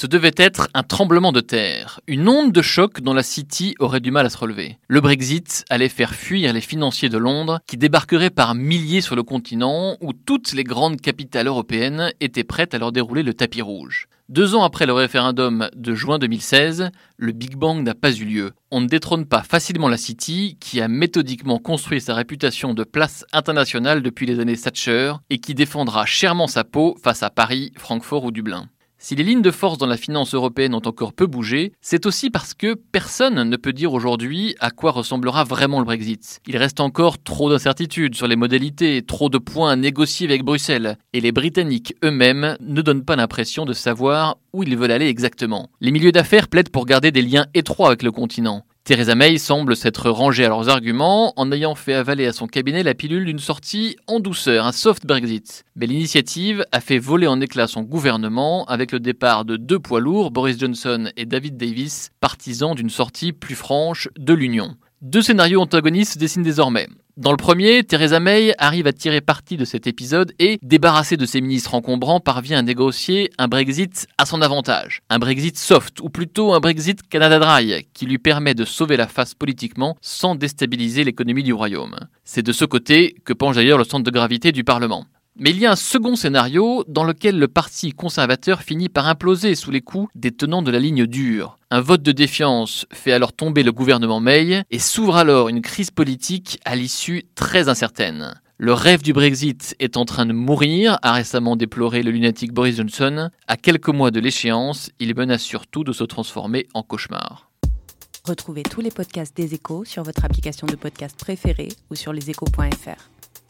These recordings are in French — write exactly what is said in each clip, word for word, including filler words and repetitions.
Ce devait être un tremblement de terre, une onde de choc dont la City aurait du mal à se relever. Le Brexit allait faire fuir les financiers de Londres qui débarqueraient par milliers sur le continent où toutes les grandes capitales européennes étaient prêtes à leur dérouler le tapis rouge. Deux ans après le référendum de juin deux mille seize, le Big Bang n'a pas eu lieu. On ne détrône pas facilement la City, qui a méthodiquement construit sa réputation de place internationale depuis les années Thatcher et qui défendra chèrement sa peau face à Paris, Francfort ou Dublin. Si les lignes de force dans la finance européenne ont encore peu bougé, c'est aussi parce que personne ne peut dire aujourd'hui à quoi ressemblera vraiment le Brexit. Il reste encore trop d'incertitudes sur les modalités, trop de points à négocier avec Bruxelles, et les Britanniques eux-mêmes ne donnent pas l'impression de savoir où ils veulent aller exactement. Les milieux d'affaires plaident pour garder des liens étroits avec le continent. Theresa May semble s'être rangée à leurs arguments en ayant fait avaler à son cabinet la pilule d'une sortie en douceur, un soft Brexit. Mais l'initiative a fait voler en éclats son gouvernement avec le départ de deux poids lourds, Boris Johnson et David Davis, partisans d'une sortie plus franche de l'Union. Deux scénarios antagonistes se dessinent désormais. Dans le premier, Theresa May arrive à tirer parti de cet épisode et, débarrassée de ses ministres encombrants, parvient à négocier un Brexit à son avantage. Un Brexit soft, ou plutôt un Brexit Canada Dry, qui lui permet de sauver la face politiquement sans déstabiliser l'économie du Royaume. C'est de ce côté que penche d'ailleurs le centre de gravité du Parlement. Mais il y a un second scénario dans lequel le parti conservateur finit par imploser sous les coups des tenants de la ligne dure. Un vote de défiance fait alors tomber le gouvernement May et s'ouvre alors une crise politique à l'issue très incertaine. Le rêve du Brexit est en train de mourir, a récemment déploré le lunatique Boris Johnson. À quelques mois de l'échéance, il menace surtout de se transformer en cauchemar. Retrouvez tous les podcasts des Échos sur votre application de podcast préférée ou sur leséchos point f r.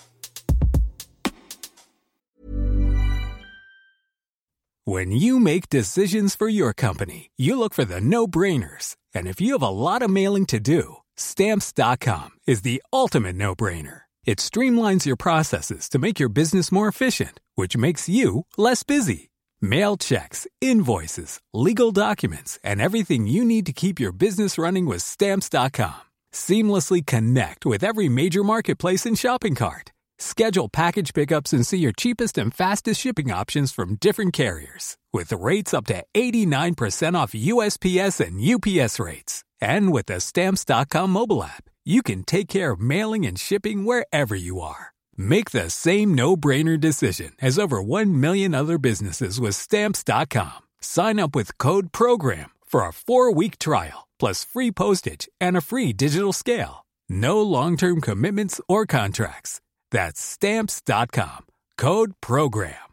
When you make decisions for your company, you look for the no-brainers. And if you have a lot of mailing to do, Stamps dot com is the ultimate no-brainer. It streamlines your processes to make your business more efficient, which makes you less busy. Mail checks, invoices, legal documents, and everything you need to keep your business running with Stamps dot com. Seamlessly connect with every major marketplace and shopping cart. Schedule package pickups and see your cheapest and fastest shipping options from different carriers. With rates up to eighty-nine percent off U S P S and U P S rates. And with the Stamps dot com mobile app, you can take care of mailing and shipping wherever you are. Make the same no-brainer decision as over one million other businesses with Stamps dot com. Sign up with code PROGRAM for a four-week trial, plus free postage and a free digital scale. No long-term commitments or contracts. That's Stamps dot com. Code PROGRAM.